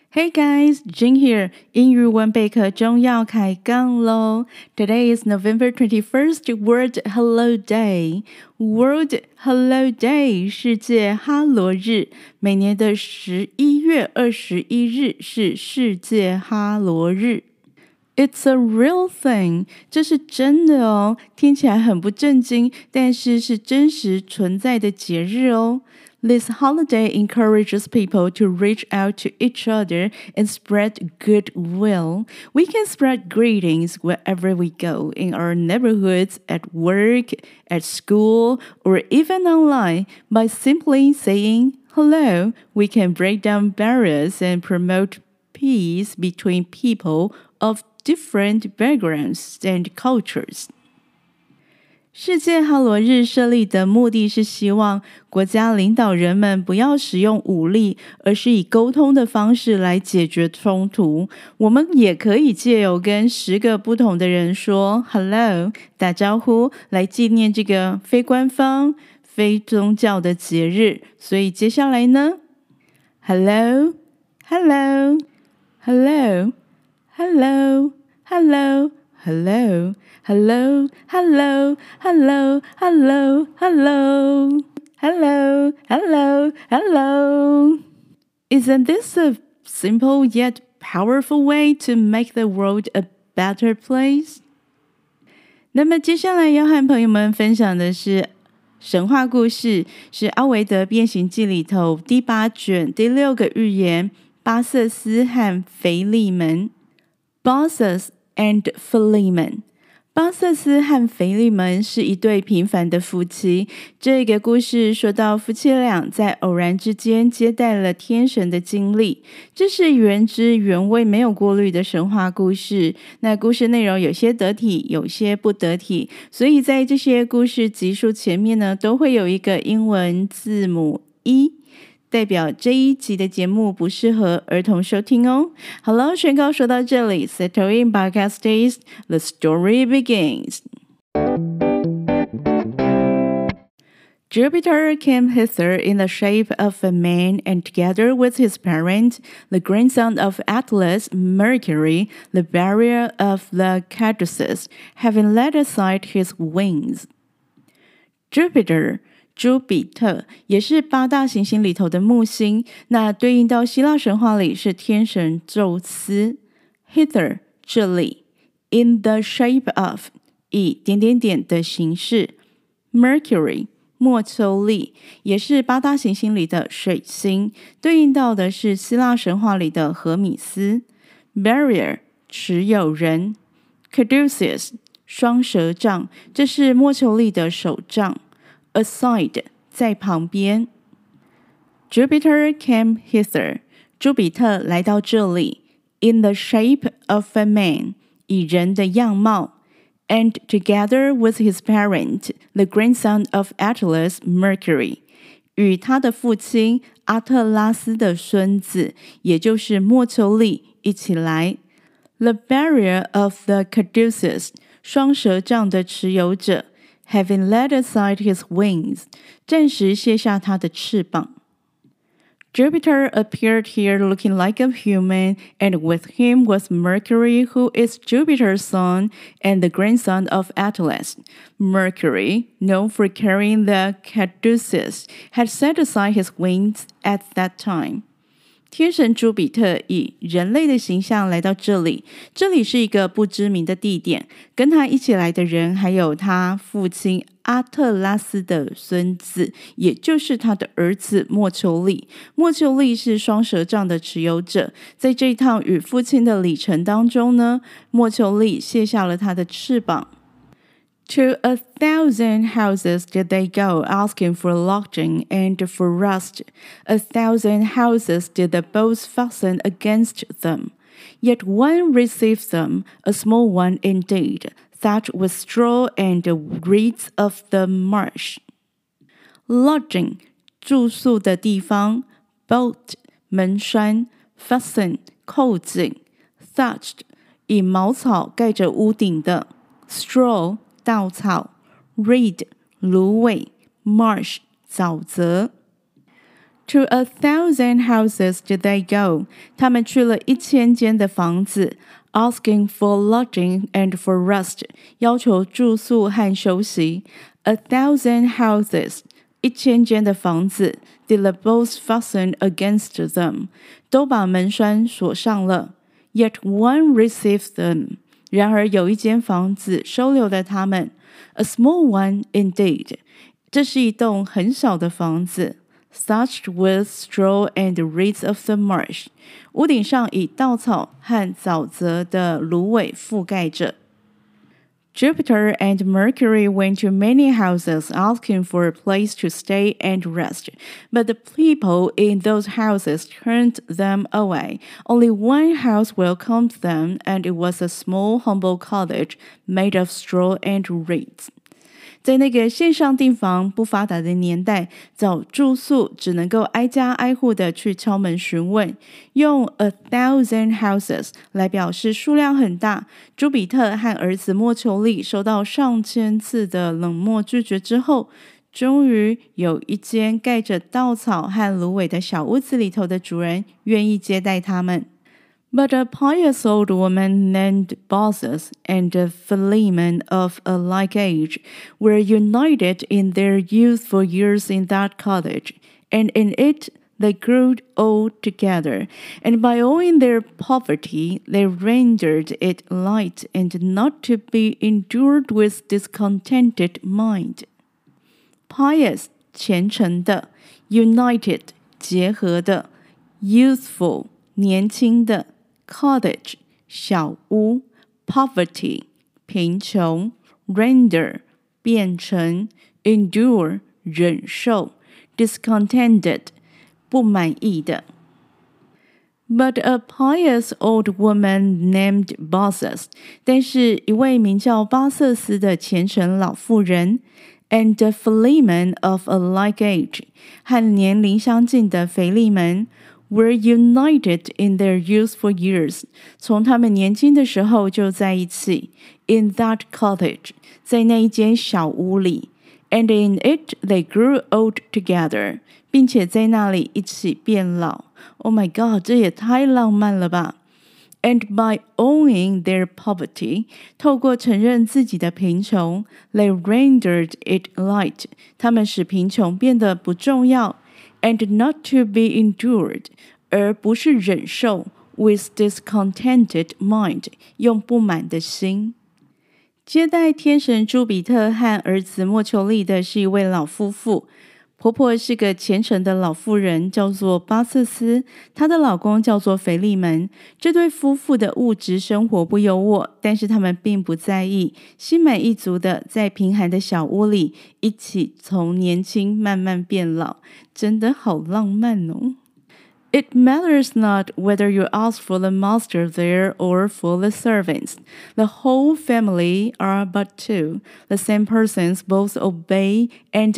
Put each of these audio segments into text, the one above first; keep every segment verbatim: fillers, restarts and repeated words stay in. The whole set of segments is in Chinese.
Hey guys, Jing here. 英語文備課中要開槓咯。Today is November twenty-first, World Hello Day. World Hello Day 世界哈羅日。每年的十一月二十一日是世界哈羅日。It's a real thing. 這是真的哦，聽起來很不正經，但是是真實存在的節日哦。This holiday encourages people to reach out to each other and spread goodwill. We can spread greetings wherever we go, in our neighborhoods, at work, at school, or even online. By simply saying hello, we can break down barriers and promote peace between people of different backgrounds and cultures. 世界哈羅日設立的目的是希望國家領導人們不要使用武力，而是以溝通的方式來解決衝突。我們也可以借由跟十個不同的人說 Hello 打招呼，來紀念這個非官方、非宗教的節日。所以接下來呢 Hello Hello Hello Hello Hello Hello Hello, hello, hello, hello, hello, hello, hello, hello. Isn't this a simple yet powerful way to make the world a better place? 那麼接下來要和朋友們分享的是神話故事，是奧維德變形記裡頭第八卷第六個寓言巴瑟斯和腓利門 Baucis and Philemon。巴瑟斯和腓利門是一對平凡的夫妻。這個故事說到夫妻倆在偶然之間接待了天神的經歷，這是原汁原味沒有過濾的神話故事。那故事內容有些得體，有些不得體，所以在這些故事集數前面呢，都會有一個英文字母 E，代表這一集的節目不適合兒童收聽哦。好了，宣告說到這裡 Settle in podcast days, the story begins. Jupiter came hither in the shape of a man, and together with his parent, the grandson of Atlas, Mercury, the bearer of the Caduceus, having laid aside his wings. Jupiter朱比特也是八大行星裡頭的木星，那對應到希臘神話裡是天神宙斯。Hither 這裡 in the shape of 以點點點的形式。Mercury 墨丘利也是八大行星裡的水星，對應到的是希臘神話裡的荷米斯。Barrier 持有人。Caduceus 雙蛇杖，這是墨丘利的手杖。Aside 在旁邊。Jupiter came hither 朱比特來到這裡 in the shape of a man 以人的樣貌 and together with his parent the grandson of Atlas Mercury 與他的父親阿特拉斯的孫子也就是墨丘利一起來 The bearer of the Caduceus 雙蛇杖的持有者Having laid aside his wings, 暫時卸下他的翅膀。Jupiter appeared here looking like a human, and with him was Mercury, who is Jupiter's son and the grandson of Atlas. Mercury, known for carrying the Caduceus, had set aside his wings at that time. 天神朱比特以人類的形象來到這裡，這裡是一個不知名的地點，跟他一起來的人還有他父親阿特拉斯的孫子，也就是他的兒子墨丘利。墨丘利是雙蛇杖的持有者，在這一趟與父親的旅程當中呢，墨丘利卸下了他的翅膀。To a thousand houses did they go, asking for lodging and for rest. A thousand houses did the bows fasten against them. Yet one received them, a small one indeed, thatched with straw and the reeds of the marsh. Lodging, 住宿的地方 boat, 門栓 fasten, 扣緊 thatched, 以茅草蓋着屋頂的 straw, 稻草 reed 蘆葦 marsh 沼澤 To a thousand houses did they go. 他們去了一千間的房子 ，asking for lodging and for rest. 要求住宿和休息。A thousand houses. 一千間的房子 did the bolts fasten against them. 都把門栓鎖上了。Yet one received them. 然而有一間房子收留了他們。A small one indeed. 這是一棟很小的房子。Thatched with straw and reeds of the marsh. 屋頂上以稻草和沼澤的蘆葦覆蓋着。Jupiter and Mercury went to many houses asking for a place to stay and rest, but the people in those houses turned them away. Only one house welcomed them, and it was a small, humble cottage made of straw and reeds.在那個線上訂房不發達的年代，找住宿只能夠挨家挨戶的去敲門詢問，用 a thousand houses 來表示數量很大。朱比特和兒子莫丘利收到上千次的冷漠拒絕之後，終於有一間蓋着稻草和蘆葦的小屋子裡頭的主人願意接待他們。But a pious old woman named Baucis and Philemon of a like age were united in their youthful years in that cottage, and in it they grew old together, and by owing their poverty they rendered it light and not to be endured with discontented mind. Pious 虔誠的 United 結合的 Youthful 年輕的Cottage 小屋 Poverty 貧窮 Render 變成 Endure 忍受 Discontented 不滿意的 But a pious old woman named Baucis 但是一位名叫巴瑟斯的虔誠老婦人 And Philemon of a like age 和年齡相近的腓利門were united in their youthful years. 從他們年輕的時候就在一起。In that cottage. 在那一間小屋裡。And in it they grew old together. 並且在那裡一起變老。Oh my God, 這也太浪漫了吧。And by owning their poverty, 透過承認自己的貧窮 they rendered it light. 他們使貧窮變得不重要。And not to be endured, 而不是忍受 with discontented mind, 用不滿的心。接待天神朱比特和兒子莫丘利的是一位老夫婦，婆婆是個虔誠的老婦人，叫做巴瑟斯，她的老公叫做腓利門。這對夫婦的物質生活不優渥，但是他們並不在意，心滿意足的在貧寒的小屋裡一起從年輕慢慢變老，真的好浪漫哦。It matters not whether you ask for the master there or for the servants. The whole family are but two. The same persons both obey and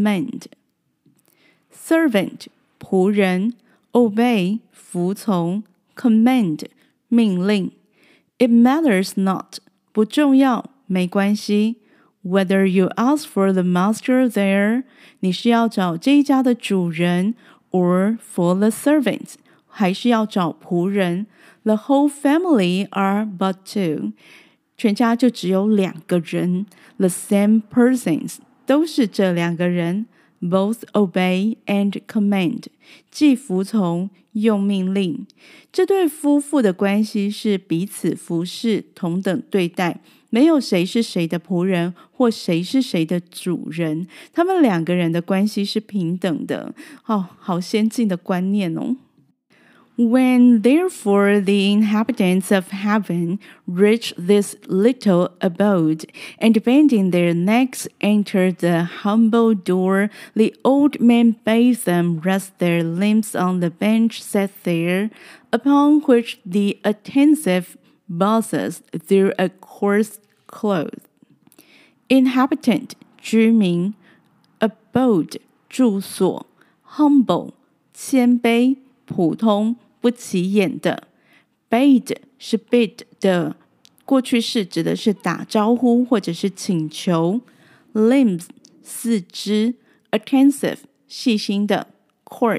command.Servant 僕人 Obey 服從 Command 命令 It matters not 不重要沒關係 Whether you ask for the master there 你是要找這一家的主人 or for the servants 還是要找僕人 The whole family are but two 全家就只有兩個人 The same persons 都是這兩個人Both obey and command, 既服從又命令。這對夫婦的關係是彼此服侍，同等對待，沒有誰是誰的僕人，或誰是誰的主人。他們兩個人的關係是平等的。哦，好先進的觀念哦。When therefore the inhabitants of heaven reached this little abode, and bending their necks entered the humble door, the old man bade them rest their limbs on the bench set there, upon which the attentive Baucis threw a coarse cloth. Inhabitant 居民 abode 住所 humble 謙卑普通不起眼的 bade 是 bid 的過去式，指的是打招呼或者是請求 limbs 四肢 attentive 細心的 coarse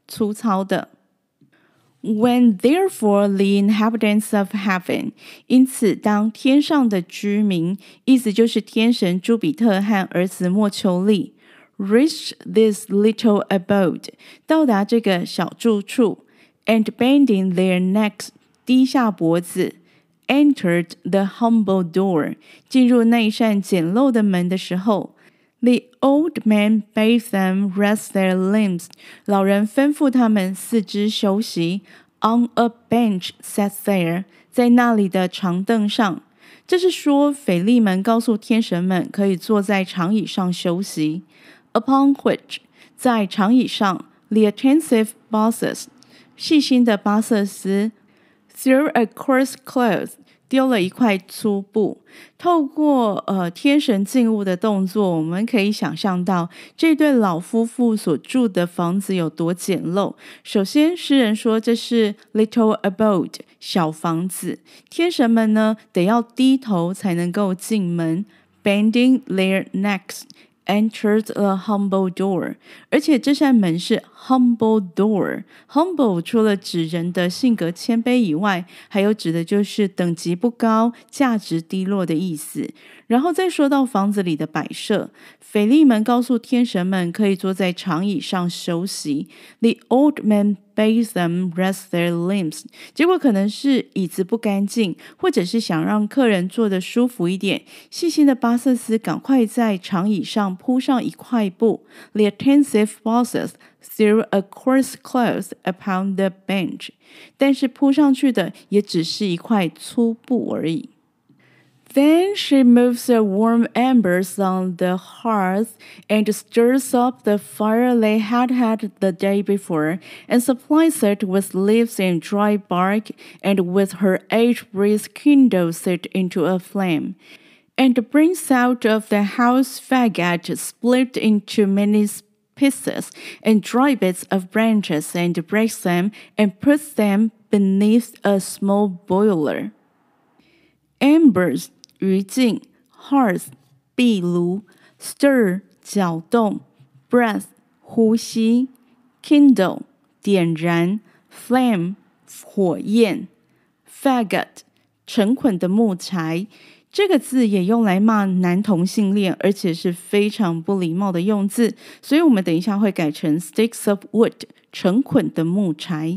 粗糙的。When therefore the inhabitants of heaven， 因此當天上的居民，意思就是天神朱比特和兒子莫丘利 reached this little abode， 到達這個小住處 and bending their necks， 低下脖子 entered the humble door， 進入那扇簡陋的門的時候， The old man bade them rest their limbs， 老人吩咐他們四肢休息 on a bench set there， 在那裡的長凳上。這是說腓利門告訴天神們可以坐在長椅上休息。Upon which， 在長椅上 the attentive bosses， 細心的巴瑟斯 threw a coarse cloth，丟了一塊粗布。透過呃天神進屋的動作，我們可以想象到這對老夫婦所住的房子有多簡陋。首先，詩人說這是 little abode， 小房子。天神們呢，得要低頭才能夠進門 ，bending their necks。Entered a humble door， 而且這扇門是 humble door。humble 除了指人的性格謙卑以外，還有指的就是等級不高、價值低落的意思。然後再說到房子裡的擺設，腓利門告訴天神們可以坐在長椅上休息。The old man bade them rest their limbs， 結果可能是椅子不乾淨，或者是想讓客人坐得舒服一點。細心的巴瑟斯趕快在長椅上鋪上一塊布。The attentive bosses threw a coarse cloth upon the bench， 但是鋪上去的也只是一塊粗布而已。Then she moves the warm embers on the hearth and stirs up the fire they had had the day before, and supplies it with leaves and dry bark, and with her eight breath kindles it into a flame, and brings out of the house faggot split into many pieces, and dry bits of branches, and breaks them, and puts them beneath a small boiler. Embers餘燼 hearth 壁爐 stir 攪動 breath 呼吸 kindle 點燃 flame 火焰 faggot 成捆的木柴。這個字也用來罵男同性戀，而且是非常不禮貌的用字，所以我們等一下會改成 sticks of wood 成捆的木柴。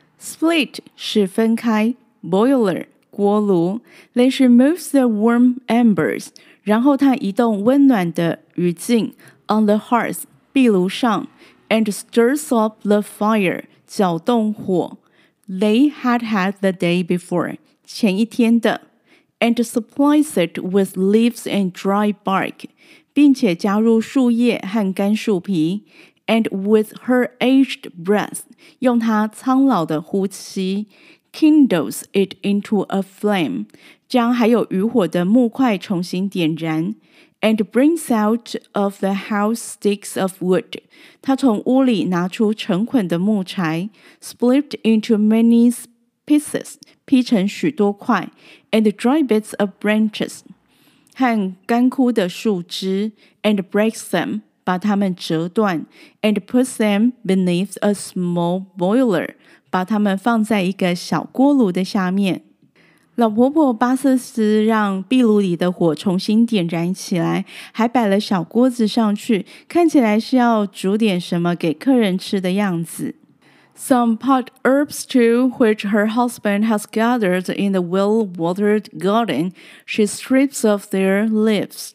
split 是分開 boiler鍋爐 Then she moves the warm embers， 然後她移動溫暖的餘燼 on the hearth 壁爐上 and stirs up the fire 攪動火 They had had the day before 前一天的 and supplies it with leaves and dry bark 並且加入樹葉和乾樹皮 and with her aged breath 用她蒼老的呼吸kindles it into a flame， 將還有餘火的木塊重新點燃 and brings out of the house sticks of wood， 他從屋裡拿出成捆的木柴 split into many pieces， 劈成許多塊 and dry bits of branches， 和乾枯的樹枝 and breaks them， 把它們折斷 and puts them beneath a small boiler，把它們放在一個小鍋爐的下面。老婆婆巴瑟斯讓壁爐裡的火重新點燃起來，還擺了小鍋子上去，看起來是要煮點什麼給客人吃的樣子。Some pot herbs too, which her husband has gathered in the well-watered garden, she strips off their leaves.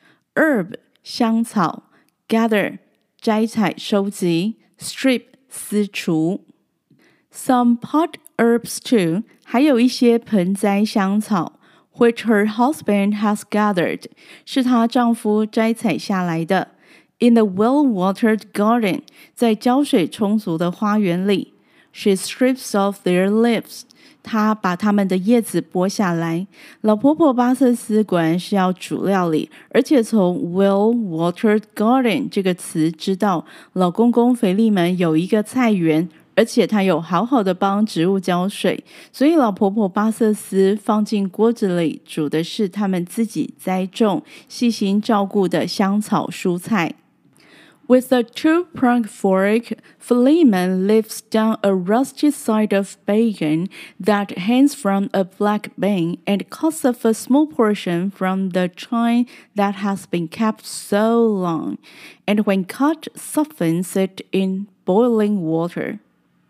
Herb 香草 gather 摘採收集 strip 撕除。Some pot herbs too， 還有一些盆栽香草 which her husband has gathered， 是她丈夫摘採下來的 in the well-watered garden， 在澆水充足的花園裡 she strips off their leaves， 她把它們的葉子剝下來。老婆婆巴瑟斯果然是要煮料理，而且從 well-watered garden 這個詞知道老公公腓利門有一個菜園，而且他有好好的幫植物澆水，所以老婆婆巴瑟斯放進鍋子裡煮的是他們自己栽種、細心照顧的香草蔬菜。 With a two-pronged fork, Philemon lifts down a rusty side of bacon that hangs from a black bean and cuts off a small portion from the chine that has been kept so long, and when cut, softens it in boiling water.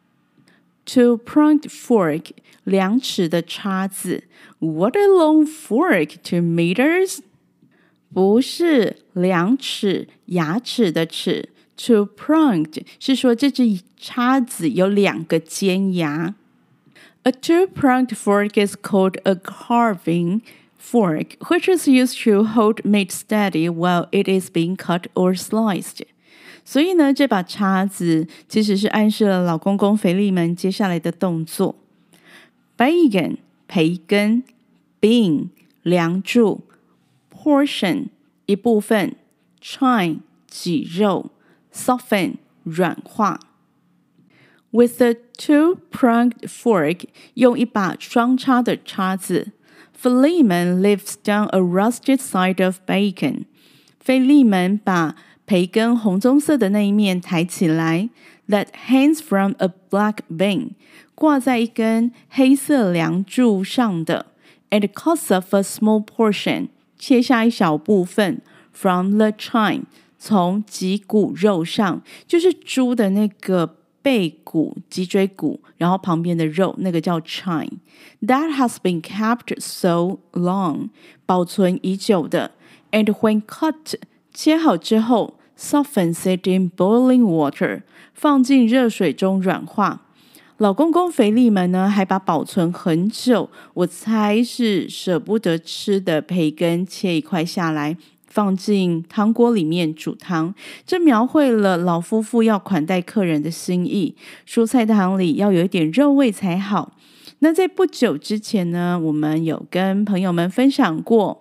Two-pronged fork, 两齿的叉子 What a long fork, two meters? 不是两齿牙齒的齒 Two-pronged 是說這隻叉子有兩個尖牙。A two-pronged fork is called a carving fork, which is used to hold meat steady while it is being cut or sliced. 所以呢，這把叉子其實是暗示了老公公腓利門接下來的動作。Bacon 培根 Bean 梁柱Portion 一部分 Chine 脊肉 Soften 軟化 With a two-pronged fork 用一把雙叉的叉子 Philemon lifts down a rusted side of bacon 腓利門把培根紅棕色的那一面抬起來 That hangs from a black bean 掛在一根黑色梁柱上的 And cuts off a small portion切下一小部分 from the chine 從脊骨肉上就是豬的那個背骨脊椎骨然後旁邊的肉那個叫 chine that has been kept so long 保存已久的 and when cut 切好之後 softens it in boiling water 放進熱水中軟化老公公腓利門呢，還把保存很久，我猜是捨不得吃的培根切一塊下來，放進湯鍋裡面煮湯。這描繪了老夫婦要款待客人的心意，蔬菜湯裡要有一點肉味才好。那在不久之前呢，我們有跟朋友們分享過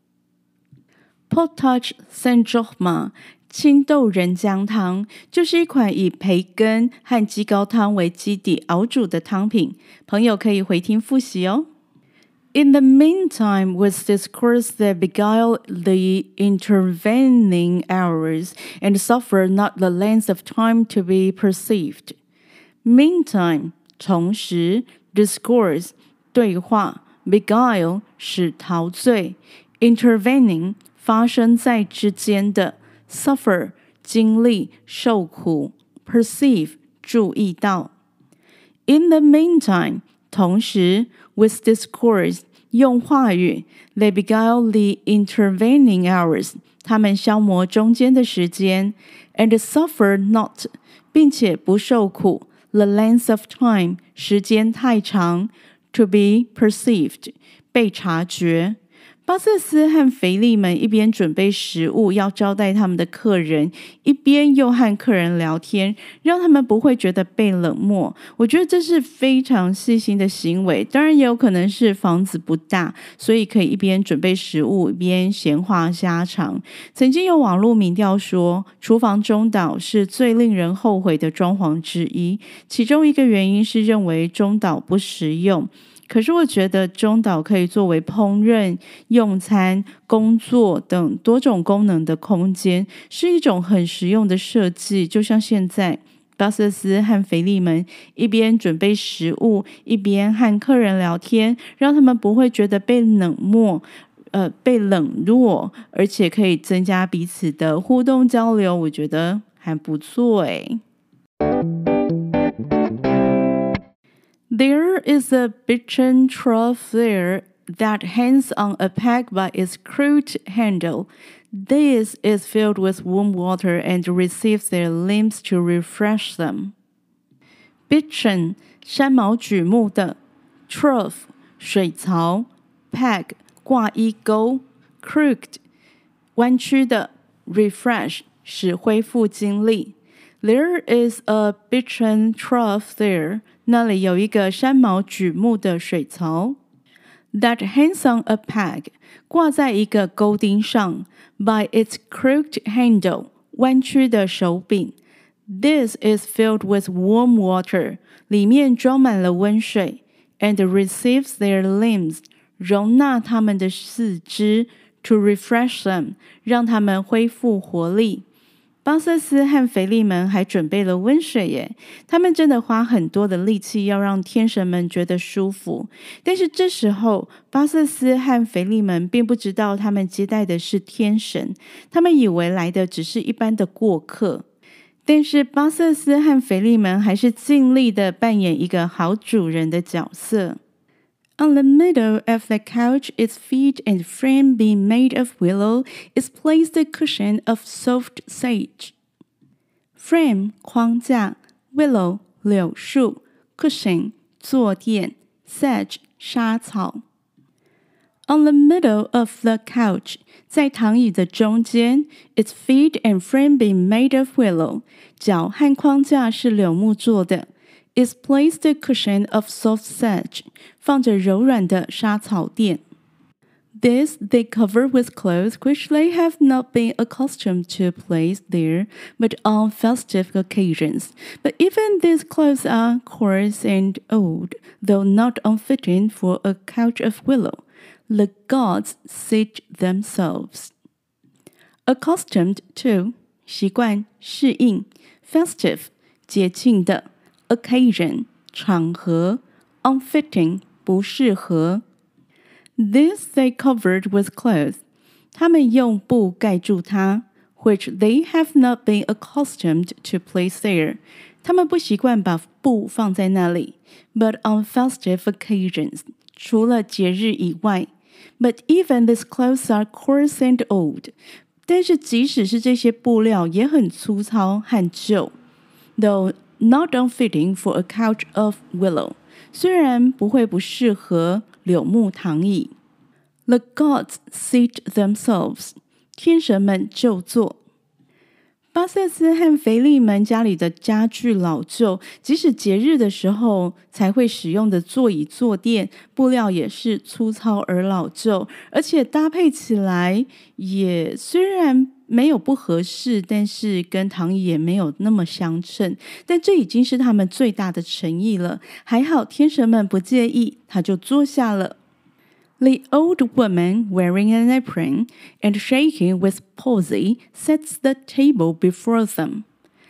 Potage Saint-Germain青豆仁漿湯就是一款以培根和雞高湯為基底熬煮的湯品，朋友可以回聽複習哦。In the meantime, with discourse that beguile the intervening hours and suffer not the length of time to be perceived. Meantime, 同時 discourse 對話 beguile 使陶醉 intervening 發生在之間的Suffer 經歷受苦 Perceive 注意到 In the meantime 同時 With discourse 用話語 They beguile the intervening hours 他們消磨中間的時間 And suffer not 並且不受苦 The length of time 時間太長 To be perceived 被察覺巴瑟斯和腓利門一邊準備食物要招待他們的客人，一邊又和客人聊天，讓他們不會覺得被冷漠。我覺得這是非常細心的行為，當然也有可能是房子不大，所以可以一邊準備食物，一邊閒話家常。曾經有網絡民調說，廚房中島是最令人後悔的裝潢之一，其中一個原因是認為中島不實用。可是我覺得中島可以作為烹飪、用餐、工作等多種功能的空間，是一種很實用的設計。就像現在，巴瑟斯和腓利門一邊準備食物，一邊和客人聊天，讓他們不會覺得被冷漠、呃被冷落，而且可以增加彼此的互動交流。我覺得還不錯誒。There is a bitchen trough there that hangs on a peg by its crude handle. This is filled with warm water and receives their limbs to refresh them. Bitchen 山毛櫸木的 trough 水槽 peg 掛衣鈎 crooked 彎曲的 refresh 使恢復精力。There is a bitchen trough there.那裡有一個山毛櫸木的水槽 that hangs on a peg 掛在一個鈎釘上 by its crooked handle 彎曲的手柄 This is filled with warm water 裡面裝滿了溫水 and receives their limbs 容納他們的四肢 to refresh them 讓他們恢復活力巴瑟斯和腓利門還準備了溫水耶，他們真的花很多的力氣要讓天神們覺得舒服。但是這時候，巴瑟斯和腓利門並不知道他們接待的是天神，他們以為來的只是一般的過客。但是巴瑟斯和腓利門還是盡力的扮演一個好主人的角色。On the middle of the couch, its feet and frame being made of willow, is placed a cushion of soft sage. Frame 框架 Willow 柳樹 Cushion 坐墊 Sage 莎草。On the middle of the couch, 在躺椅的中間 its feet and frame being made of willow, 腳和框架是柳木做的is placed a cushion of soft sage, 放着柔軟的莎草墊。This they cover with clothes which they have not been accustomed to place there, but on festive occasions. But even these clothes are coarse and old, though not unfitting for a couch of willow. The gods sit themselves. Accustomed to, 習慣適應 festive, 節慶的occasion 場合 unfitting 不適合 This they covered with clothes 他們用布蓋住它 which they have not been accustomed to place there 他們不習慣把布放在那裡 but on festive occasions 除了節日以外 But even these clothes are coarse and old 但是即使是這些布料也很粗糙和舊 Though not unfitting for a couch of willow. 雖然不會不適合柳木躺椅。The gods seat themselves. 天神們就坐。巴瑟斯和腓利門家裡的家具老舊，即使節日的時候才會使用的座椅坐墊，布料也是粗糙而老舊，而且搭配起來也雖然沒有不合適，但是跟躺椅也沒有那麼相稱，但這已經是他們最大的誠意了。還好天神們不介意，他就坐下了。The old woman, wearing an apron and shaking with palsy, sets the table before them.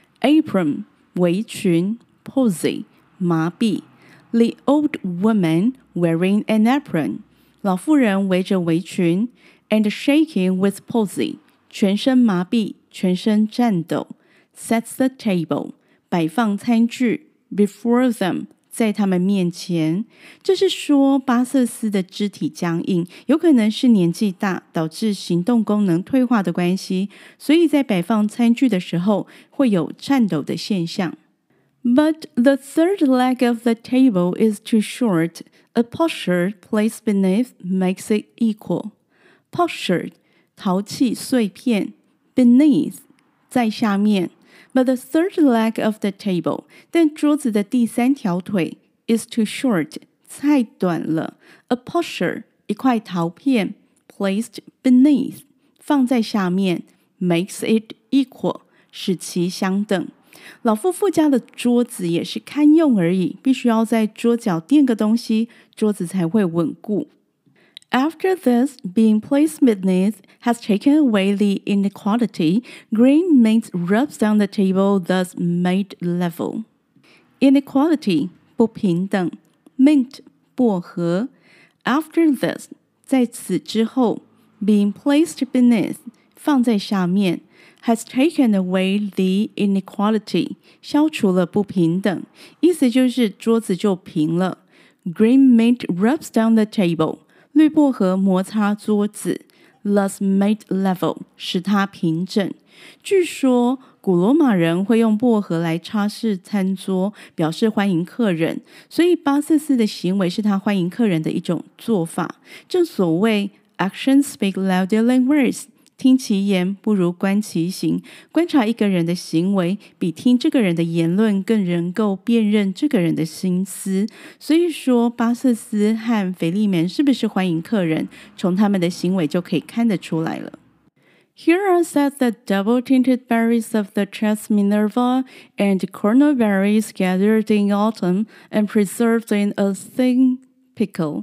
Apron, 圍裙 palsy, 麻痹 The old woman, wearing an apron. 老婦人圍着圍裙 and shaking with palsy, 全身麻痹，全身顫抖 Sets the table, 擺放餐具 before them.在他們面前，這是說巴瑟斯的肢體僵硬，有可能是年紀大導致行動功能退化的關係，所以在擺放餐具的時候會有顫抖的現象。But the third leg of the table is too short. A potsherd placed beneath makes it equal. Potsherd, 陶器碎片 beneath, 在下面。But the third leg of the table, 但桌子的第三條腿 is too short, 太短了。A potsherd, 一塊陶片 placed beneath, 放在下面 makes it equal, 使其相等。老夫婦家的桌子也是堪用而已，必須要在桌角墊個東西，桌子才會穩固。After this, being placed beneath has taken away the inequality, green mint rubs down the table, thus made level. Inequality, 不平等 mint, 薄荷 After this, 在此之後 being placed beneath, 放在下面 has taken away the inequality, 消除了不平等，意思就是桌子就平了。Green mint rubs down the table.綠薄荷摩擦桌子 thus made level, 使它平整。據說古羅馬人會用薄荷來擦拭餐桌，表示歡迎客人，所以巴瑟斯的行為是他歡迎客人的一種做法。正所謂 actions speak louder than words, 聽其言不如觀其行。觀察一個人的行為，比聽這個人的言論更能夠辨認這個人的心思。所以說，巴瑟斯和腓利門是不是歡迎客人，從他們的行為就可以看得出來了。Here are set the double-tinted berries of the Chas Minerva and cornel berries gathered in autumn and preserved in a thin pickle.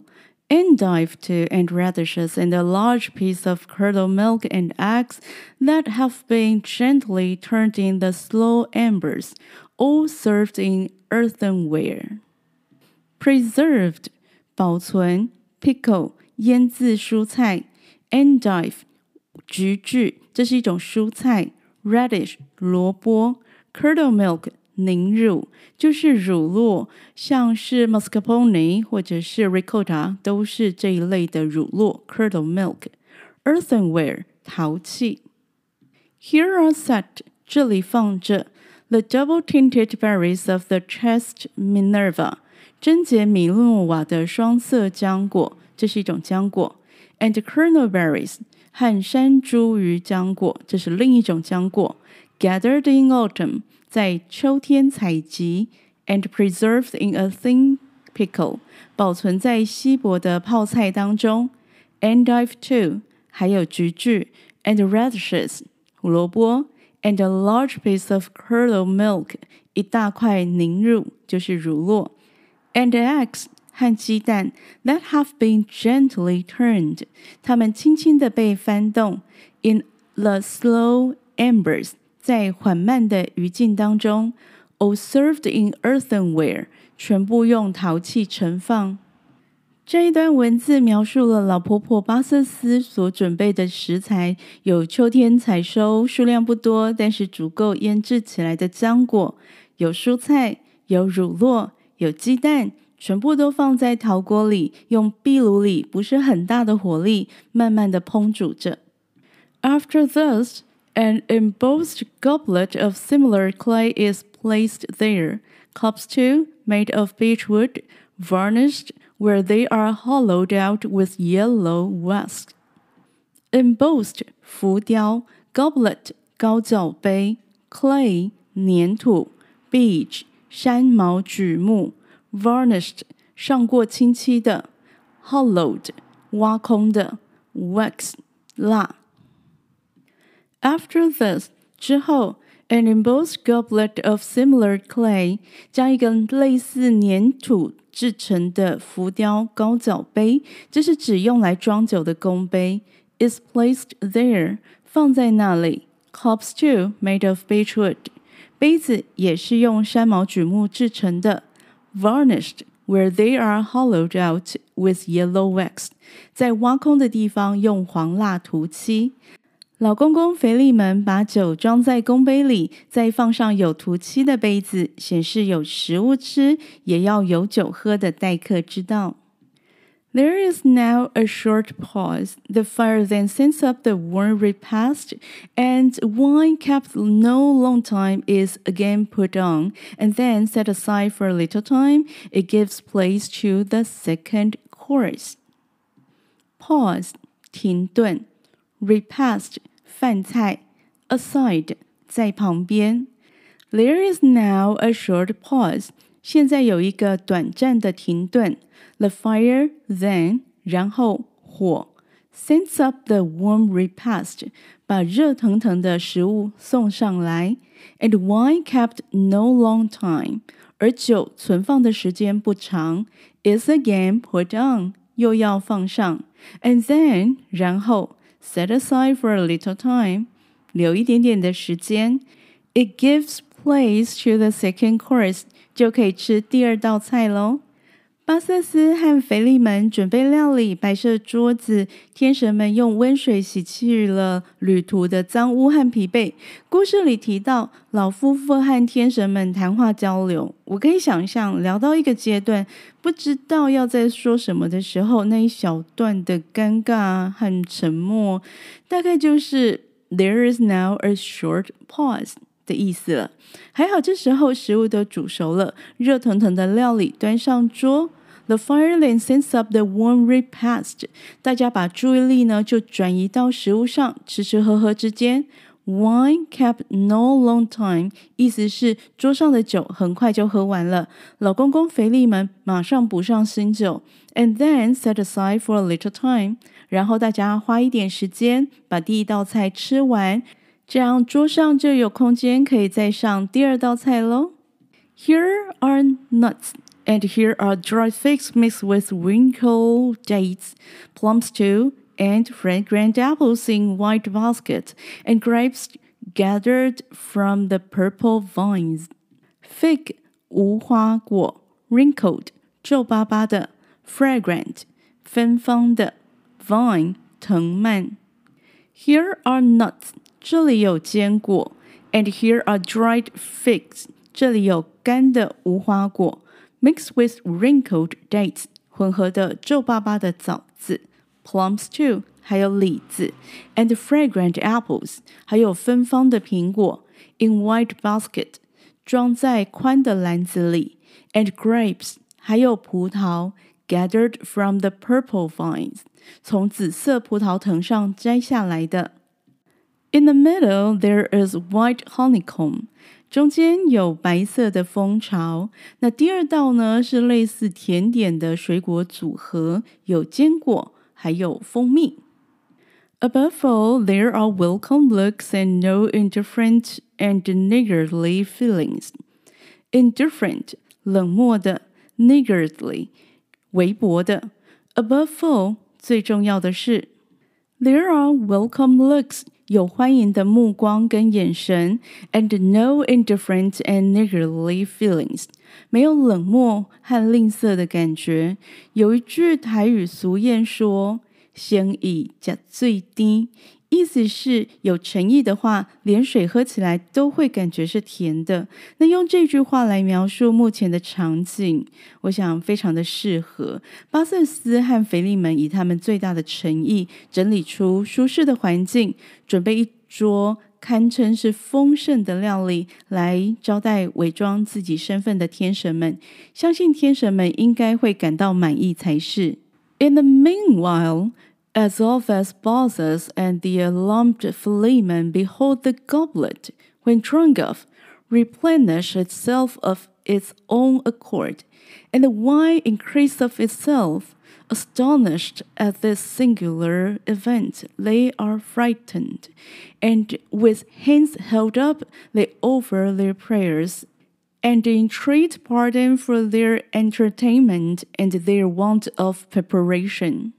Endive two and radishes and a large piece of curdled milk and eggs that have been gently turned in the slow embers, all served in earthenware. Preserved 保存 pickle 醃制蔬菜 endive 橘苣這是一種蔬菜 radish 蘿蔔 curdled milk 凝乳就是乳酪，像是 mascarpone 或者是 ricotta 都是這一類的乳酪 curdled milk. Earthenware 陶器。Here are set 這裡放着 the double-tinted berries of the chaste Minerva 貞潔米諾瓦的雙色漿果，這是一種漿果 and kernel berries 和山茱萸漿果，這是另一種漿果 gathered in autumn在秋天採集 and preserved in a thin pickle 保存在稀薄的泡菜當中 endive two 還有橘苣 and radishes 蘿蔔 and a large piece of curdled milk 一大塊凝乳就是乳酪 and eggs 和雞蛋 that have been gently turned 它們輕輕地被翻動 in the slow embers在緩慢的餘燼當中 all served in earthenware 全部用陶器盛放。這一段文字描述了老婆婆巴瑟斯所準備的食材，有秋天採收，數量不多，但是足夠醃製起來的漿果，有蔬菜，有乳酪，有雞蛋，全部都放在陶鍋裡，用壁爐裡不是很大的火力，慢慢的烹煮着。After this, an embossed goblet of similar clay is placed there. Cups too, made of beech wood, varnished where they are hollowed out with yellow wax. Embossed 浮雕 Goblet 高腳杯 Clay 粘土 Beech 山毛榉木 Varnished 上過漆漆的 Hollowed 挖空的 Wax 蠟。After this 之後 an embossed goblet of similar clay 將一個類似粘土製成的浮雕高腳杯，這是指用來裝酒的公杯 is placed there 放在那裡 Cups too made of beech wood 杯子也是用山毛榉木製成的 Varnished where they are hollowed out with yellow wax 在挖空的地方用黃蠟塗漆。老公公腓利門把酒裝在公杯裡，再放上有塗漆的杯子，顯示有食物吃，也要有酒喝的待客之道。There is now a short pause. The fire then sends up the warm repast, and wine kept no long time is again put on, and then set aside for a little time. It gives place to the second course. Pause 停頓 Repast飯菜 aside 在旁邊 There is now a short pause 現在有一個短暫的停頓 The fire then 然後火 sends up the warm repast 把熱騰騰的食物送上來 And wine kept no long time 而酒存放的時間不長 is again put on 又要放上 And then 然後Set aside for a little time, 留一點點的時間 It gives place to the second course, 就可以吃第二道菜咯。巴瑟斯和腓利門準備料理，擺設桌子，天神們用溫水洗去了旅途的髒污和疲憊。故事裡提到老夫婦和天神們談話交流，我可以想象聊到一個階段，不知道要在說什麼的時候，那一小段的尷尬和沉默，大概就是 There is now a short pause 的意思了。還好這時候食物都煮熟了，熱騰騰的料理端上桌。The fire then sends up the warm repast. 大家把注意力呢就轉移到食物上，吃吃喝喝之間。Wine kept no long time. 意思是桌上的酒很快就喝完了。老公公腓利門馬上補上新酒。And then set aside for a little time. 然後大家花一點時間把第一道菜吃完，這樣桌上就有空間可以再上第二道菜咯。Here are nuts. and here are dried figs mixed with wrinkled dates, plums too, and fragrant apples in white basket, and grapes gathered from the purple vines. Fig 無花果 wrinkled 皺巴巴的 fragrant 芬芳的 vine 藤蔓。Here are nuts 這裡有堅果 and here are dried figs 這裡有乾的無花果 mixed with wrinkled dates 混合的皺巴巴的棗子 plums too 還有李子 and fragrant apples 還有芬芳的蘋果 in white basket 裝在寬的籃子裡 and grapes 還有葡萄 gathered from the purple vines 從紫色葡萄藤上摘下來的。In the middle there is white honeycomb 中間有白色的蜂巢。那第二道呢是類似甜點的水果組合，有堅果還有蜂蜜。Above all, there are welcome looks and no indifferent and niggardly feelings. Indifferent, 冷漠的 niggardly, 微薄的 Above all, 最重要的是 There are welcome looks, 有歡迎的目光跟眼神 and no indifferent and niggardly feelings. 沒有冷漠和吝嗇的感覺。有一句台語俗諺說先以吃水甜，意思是有誠意的話，連水喝起來都會感覺是甜的。那用這句話來描述目前的場景，我想非常的適合。巴瑟斯和腓利門以他們最大的誠意，整理出舒適的環境，準備一桌堪稱是豐盛的料理，來招待偽裝自己身份的天神們。相信天神們應該會感到滿意才是。In the meanwhile, as oft as Baucis and the alarmed Philemon behold the goblet, when drunk of, replenish itself of its own accord, and the wine increase of itself, astonished at this singular event, they are frightened, and with hands held up, they offer their prayers, and entreat pardon for their entertainment and their want of preparation.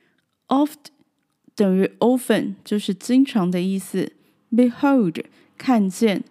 Oft 等於 often 就是經常的意思 Behold 看見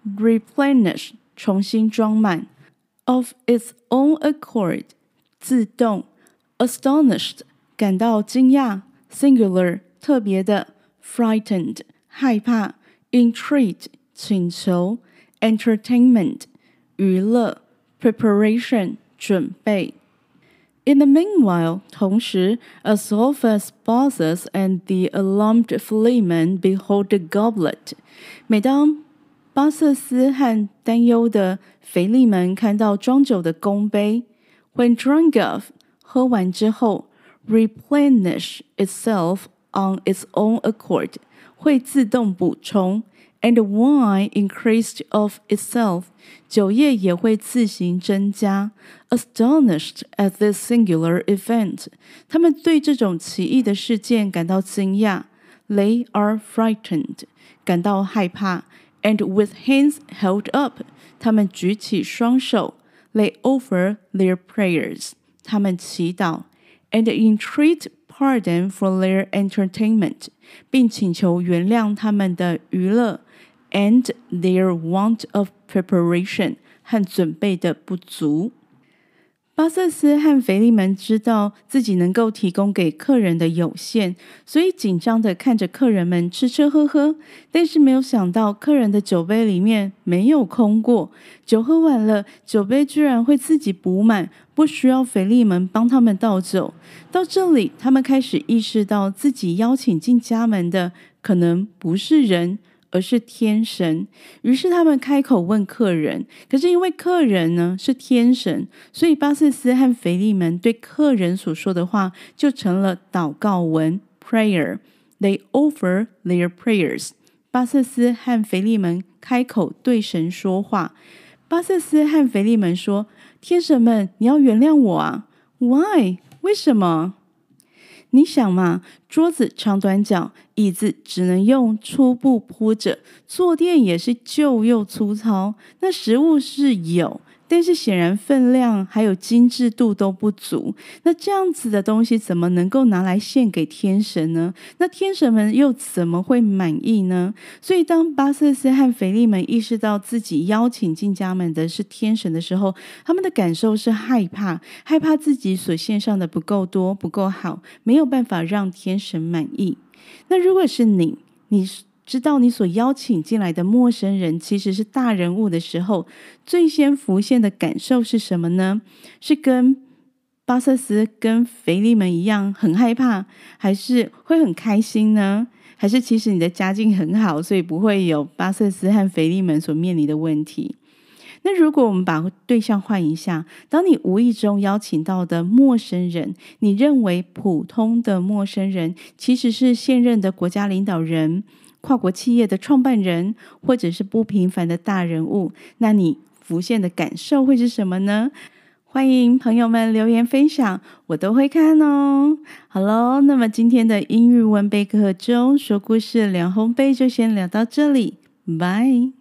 Replenish 重新裝滿 Of its own accord 自動 Astonished 感到驚訝 Singular 特別的 Frightened 害怕 Entreat 請求 Entertainment 娛樂 Preparation 準備。In the meanwhile, 同時 as oft as Baucis and the alarmed Philemon behold the goblet, 每當巴瑟斯和擔憂的腓利門看到裝酒的公杯 when drunk of, 喝完之後 replenish itself on its own accord, 會自動補充and the wine increased of itself, 酒液也會自行增加 Astonished at this singular event, 他們對這種奇異的事件感到驚訝 They are frightened, 感到害怕 And with hands held up, 他們舉起雙手 They offer their prayers, 他們祈禱 And entreat pardon for their entertainment, 並請求原諒他們的娛樂and their want of preparation 和準備的不足。巴瑟斯和腓利門知道自己能夠提供給客人的有限，所以緊張地看着客人們吃吃喝喝，但是沒有想到客人的酒杯裡面沒有空過，酒喝完了，酒杯居然會自己補滿，不需要腓利門幫他們倒酒。到這裡，他們開始意識到自己邀請進家門的可能不是人，而是天神。於是他們開口問客人，可是因為客人呢是天神，所以巴瑟斯和腓利門對客人所說的話就成了禱告文 prayer. They offer their prayers. 巴瑟斯和腓利門開口對神說話。巴瑟斯和腓利門說，天神們，你要原諒我啊。 Why? 為什麼？你想嘛，桌子長短腳，椅子只能用粗布鋪着，坐墊也是舊又粗糙。那食物是有， 但是顯然分量還有精緻度都不足。那這樣子的東西怎麼能夠拿來獻給天神呢？那天神們又怎麼會滿意呢？所以當巴瑟斯和腓利門意識到自己邀請進家門的是天神的時候，他們的感受是害怕，害怕自己所獻上的不夠多，不夠好，沒有辦法讓天神滿意。那如果是你，你知道你所邀請進來的陌生人其實是大人物的時候，最先浮現的感受是什麼呢？是跟巴瑟斯跟腓利門一樣很害怕，還是會很開心呢？還是其實你的家境很好，所以不會有巴瑟斯和腓利門所面臨的問題？那如果我們把對象換一下，當你無意中邀請到的陌生人，你認為普通的陌生人其實是現任的國家領導人、跨國企業的創辦人，或者是不平凡的大人物，那你浮現的感受會是什麼呢？歡迎朋友們留言分享，我都會看哦。好嘍，那麼今天的英語文備課中說故事聊烘焙就先聊到這裡，拜。